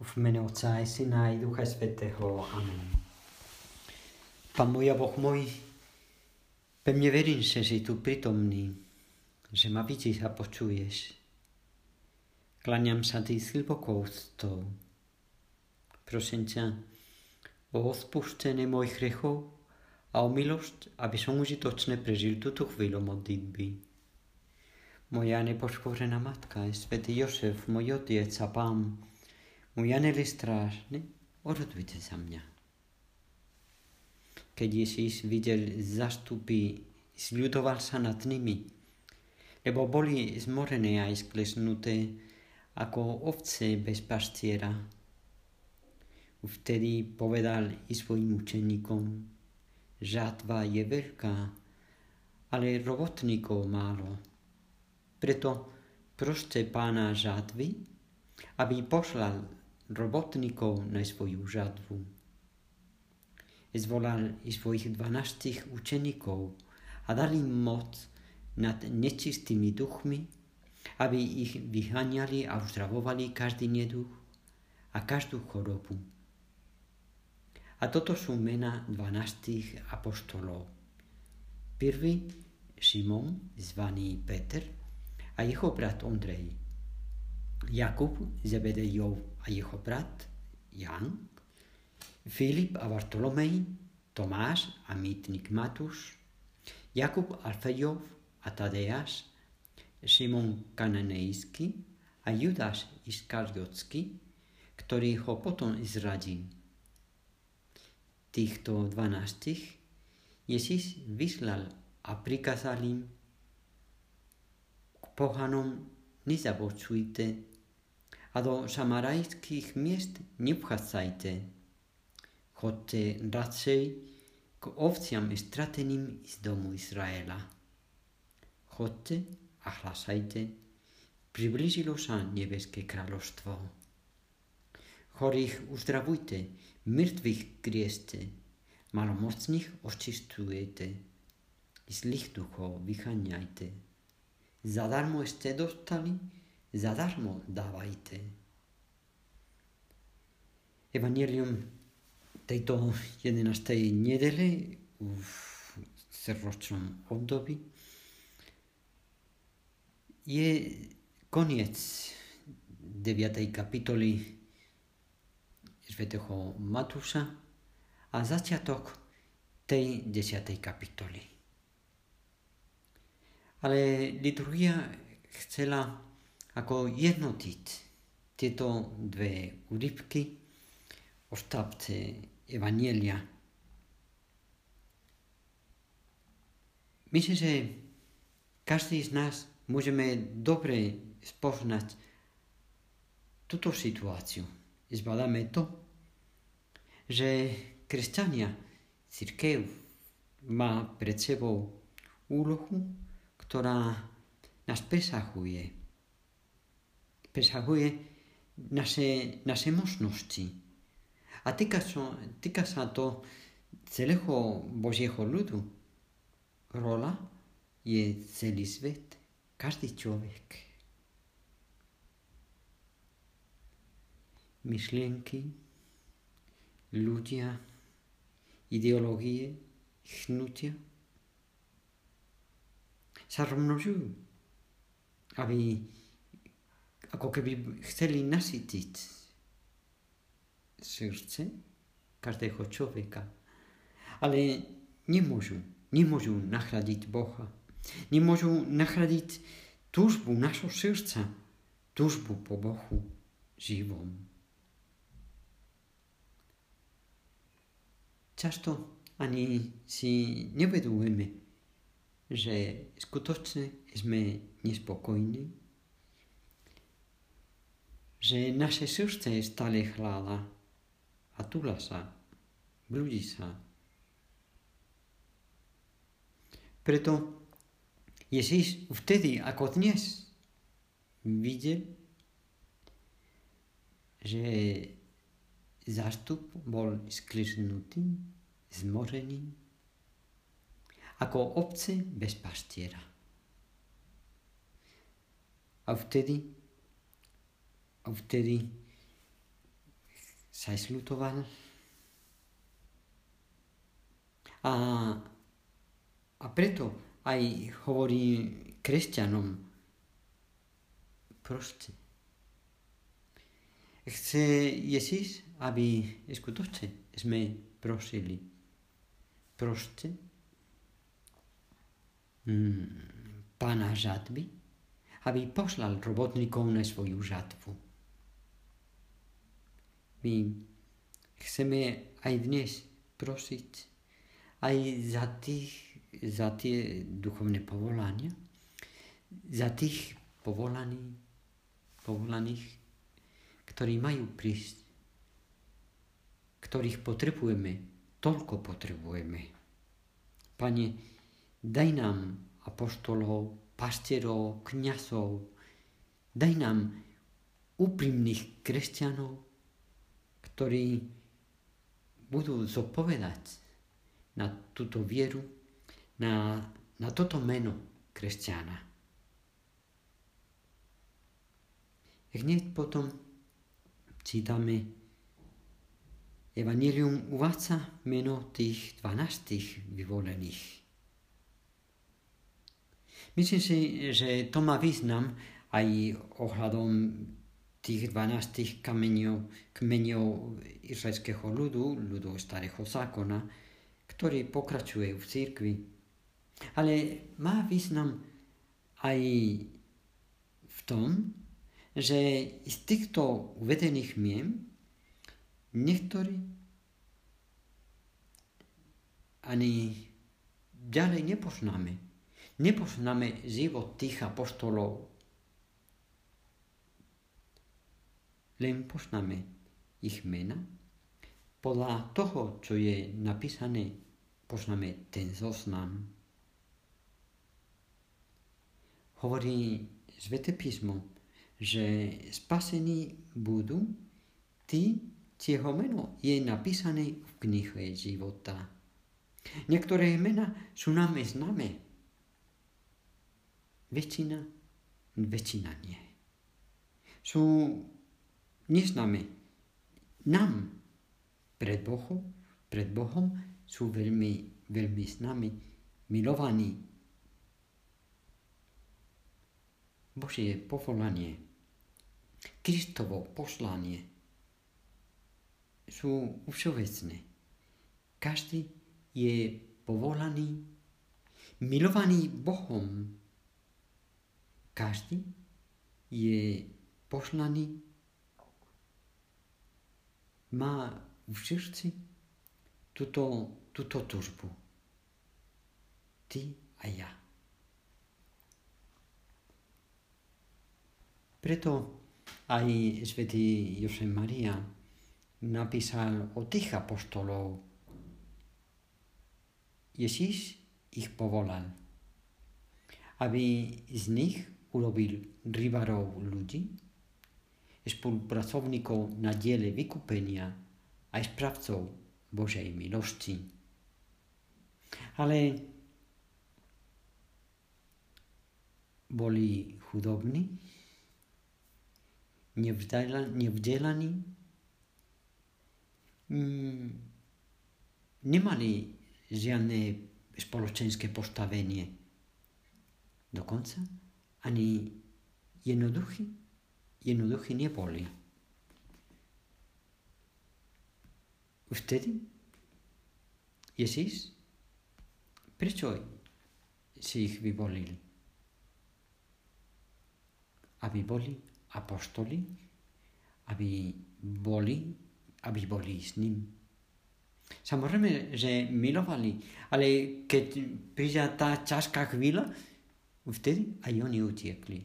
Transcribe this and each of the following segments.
V mene Otca i Syna i Ducha Svätého. Amen. Pán môj a Boh môj, pevne verím, že si tu prítomný, že ma vidíš a počuješ. Kláňam sa ti s hlbokou úctou. Prosím ťa o odpustenie mojich hriechov a o milosť, aby som užitočne prežil túto chvíľu modlitby. Moja nepoškvrnená matka, svätý Jozef, môj otec a Pán, môj anjel strážny, orodujte za mňa. Keď Ježíš videl zástupy, zľudoval sa nad nimi, lebo boli zmorené a sklesnuté ako ovce bez pastiera. Vtedy povedal i svojim učeníkom: žatva je veľká, ale robotníkov málo. Preto proste Pána žatvy, aby poslal robotníkov na svoju žatvu. Zvolal i svojich 12 učeníkov a dal im moc nad nečistými duchmi, aby ich vyháňali a uzdravovali každý neduch a každú chorobu. A toto sú mená 12 apoštolov. Prvý Šimon, zvaný Peter, a jeho brat Ondrej. Jakub, Zebedejov a jeho brat Jan, Filip a Bartolomej, Tomáš a mýtnik Matúš, Jakub Alfejov a Tadeáš, Šimon Kananejský a Judáš Iskariotský, ktorý ho potom zradil. Týchto 12 Ježíš vyslal a prikázal im: k pohanom nezabočujte a do samarajských miest nevchádzajte. Chodte radšej k ovciam strateným z domu Izraela. Chodte a hlasajte: priblížilo sa nebeské kráľovstvo. Chorých uzdravujte, mŕtvych krieste, malomocných očistujete, zlých duchov vyháňajte. Zadarmo ste dostali, zadarmo dávajte. Evangelium tejto 11. nedele v celoročnom období je koniec 9. kapitoly svätého Matúša a začiatok tej 10. kapitoly. Ale liturgia chcela ako jednotiť tieto dve úryvky o štapce Evanjelia. Myslím, že každý z nás môžeme dobre spoznať túto situáciu. Zvládame to, že kresťania, cirkev má pred sebou úlohu, ktorá nás presahuje. Presahuje naše možnosti. A týka sa to celého Božieho ľudu. Rola je celý svet, každý človek. Myšlienky, ľudia, ideológie, hnutia sa rozmnožujú, aby ako keby chceli nasytiť srdce každého človeka. Ale nemôžu nahradiť Boha. Nemôžu nahradiť túžbu našho srdca, túžbu po Bohu živom. Často ani si nevedujeme, že skutočne sme nespokojní, že naše srdce stále chlála a túla sa, blúdi sa. Preto Ježíš vtedy, ako dnes, videl, že zástup bol skliznutý, zmorený, ako ovce bez pastiera. A vtedy sa aj sľutoval. A preto aj hovorí kresťanom, proste. Chce Ježíš, aby skutočne sme prosili. Proste Pána žatby, aby poslal robotníkov na svoju žatvu. My chceme aj dnes prosiť aj za tie duchovné povolania, za tých povolaných, ktorí majú prísť, ktorých toľko potrebujeme. Pane, daj nám apoštolov, pastierov, kňazov, daj nám úprimných kresťanov, ktorí budú zodpovedať na túto vieru, na toto meno kresťana. Hneď potom čítame, Evangelium uvádza meno tých 12 vyvolených. Myslím si, že to má význam aj ohľadom tých 12 kmeňov izraelského ľudu starého zákona, ktorý pokračuje v cirkvi. Ale má význam aj v tom, že z týchto uvedených mien niektorí ani ďalej nepoznáme. Nepoznáme život tých apoštolov. Len poznáme ich mena. Podľa toho, čo je napísané, poznáme ten zoznam. Hovorí Sväté písmo, že spasení budú tí, čieho meno je napísané v knihe života. Niektoré mena sú nám známe. Väčšina nie. Sú neznáme. Nám pred Bohom sú veľmi známi, milovaní. Božie povolanie, Kristovo poslanie sú všeobecné. Každý je povolaný, milovaný Bohom. Každý je poslaný, má v srdci túto túžbu. Ty a ja. Preto aj svätý Josef Mária napísal o tých apoštolov. Ježíš ich povolal, aby z nich urobil rybárov ľudí, spolupracovníkov na diele vykúpenia aj správcov Božej milosti. Ale boli chudobní, nevzdelaní, nemali žiadne spoločenské postavenie. Dokonca ani jednoduchí neboli. Vtedy Ježíš, prečo si ich vyvolil? Aby boli apoštoli, aby boli s ním. Samozrejme, že milovali, ale keď prišla tá ťažká chvíľa, vtedy aj oni utiekli.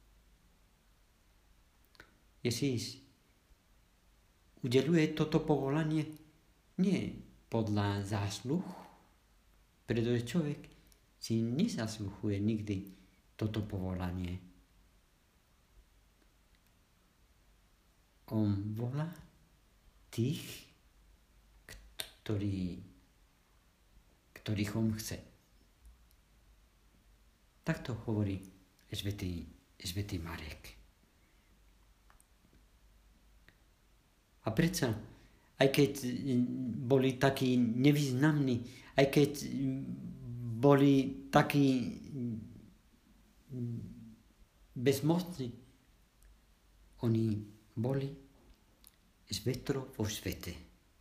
Ježíš udeľuje toto povolanie nie podľa zásluh, pretože človek si nezasluhuje nikdy toto povolanie. On volá tých, ktorých on chce. Takto hovorí svätý Marek. A predsa aj keď boli takí nevýznamní, aj keď boli takí bezmocní, oni boli svetlo vo svete.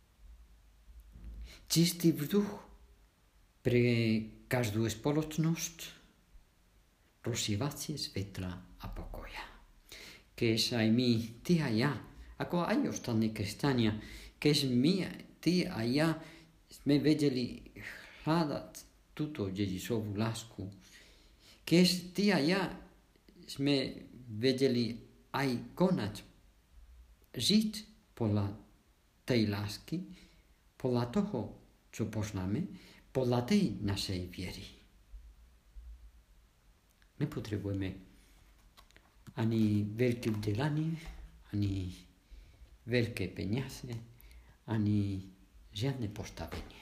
Čistý vzduch pre každú spoločnosť, rozsievacie svetla a pokoja. Keď aj my, ty a ja, ako aj ostatní kresťania, keď my, ty a ja sme vedeli hľadať túto dedičovú lásku, keď ty a ja sme vedeli aj konať, žiť podľa tej lásky, podľa toho, čo poznáme, podľa tej našej viery. Nepotrebujeme ani veľké vzdelanie, ani veľké peniaze, ani žiadne postavenie.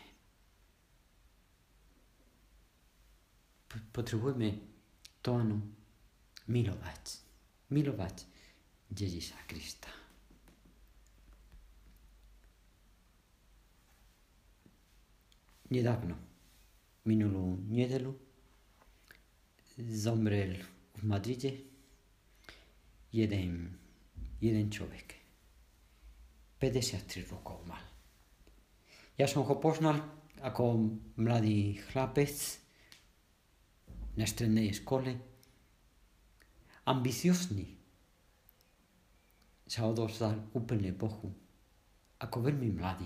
Potrebujeme to áno, milovať. Milovať Ježiša Krista. Nedávno, minulú nedeľu, zomrel v Madride jeden človek. 53 rokov mal. Ja som ho poznal ako mladý chlapec na strednej škole, ambiciozný. Sa odovzdal úplne Bohu, ako veľmi mladý.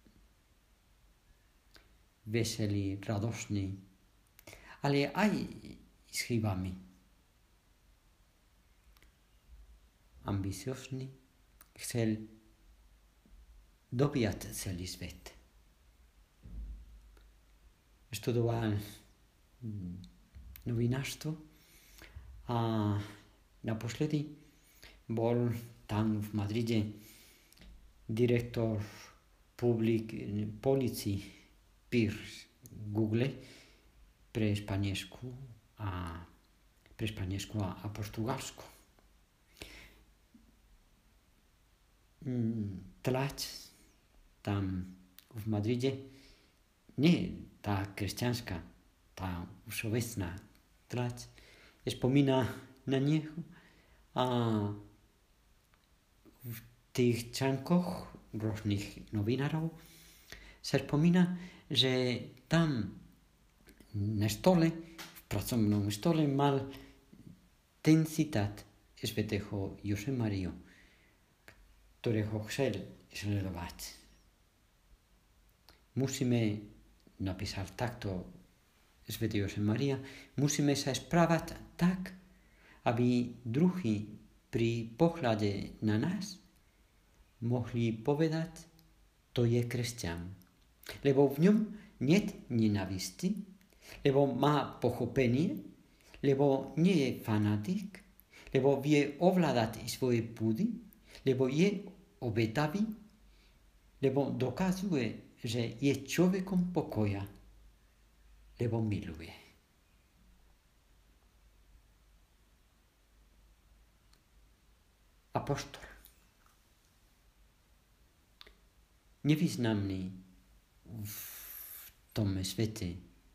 Veselý, radostný, ale aj s chybami. Ambiciozný, chcel dobíjať celý svet. Študoval novinárstvo a naposledy bol tam v Madride direktor policii PIR Google pre Španielsku a Portugalsko. Tlač tam v Madride, nie tá kresťanská, tá všeobecná tlač, spomína na neho a v tých článkoch rôznych novinárov sa spomína, že tam na stole, v pracovnom stole mal ten citát svätého Josemariu, ktorého chcel sledovať. Musíme, napísal takto svätý Josemaria, musíme sa správať tak, aby druhí pri pohľade na nás mohli povedať, to je kresťan. Lebo v ňom niet nenávisti, lebo má pochopenie, lebo nie je fanatik, lebo vie ovládať svoje púdy, lebo je obetavý, lebo dokazuje, že je človekom pokoja, lebo miluje. Apoštol. Nevýznamný v tom svete,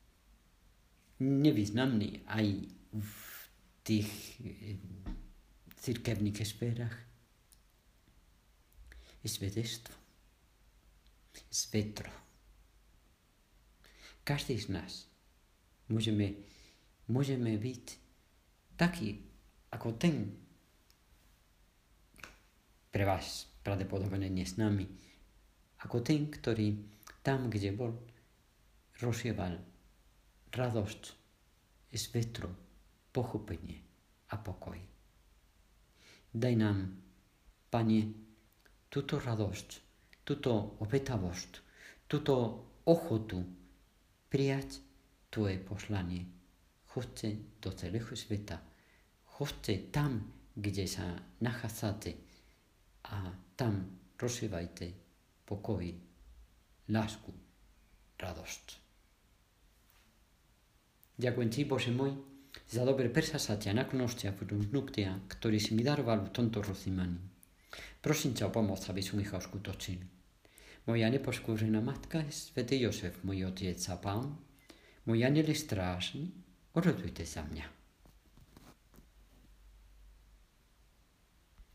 nevýznamný aj v tých cirkevných sférach, je svedectvo. Svetlo. Každý z nás môžeme byť taký ako ten, pre vás pravdepodobne nie s nami, ako ten, ktorý tam, kde bol, rozsieval radosť, svetlo, pochopenie a pokoj. Daj nám, Pane, túto radosť, túto obetavosť, túto ochotu prijať Tvoje poslanie. Choďte do celého sveta. Choďte tam, kde sa nachádzate a tam rozsievajte pokoj, lásku, radosť. Ďakujem Ti, Bože môj, za dobré prsasatia, naklonosti a vnúktia, ktorý si mi daroval v tomto rozjímaní. Prosím ťa o pomoc, aby som ich uskutočnil. moja nepoškúřená matka, svätý Jozef, môj otec a pán, môj anjeli strážny, orodujte za mňa.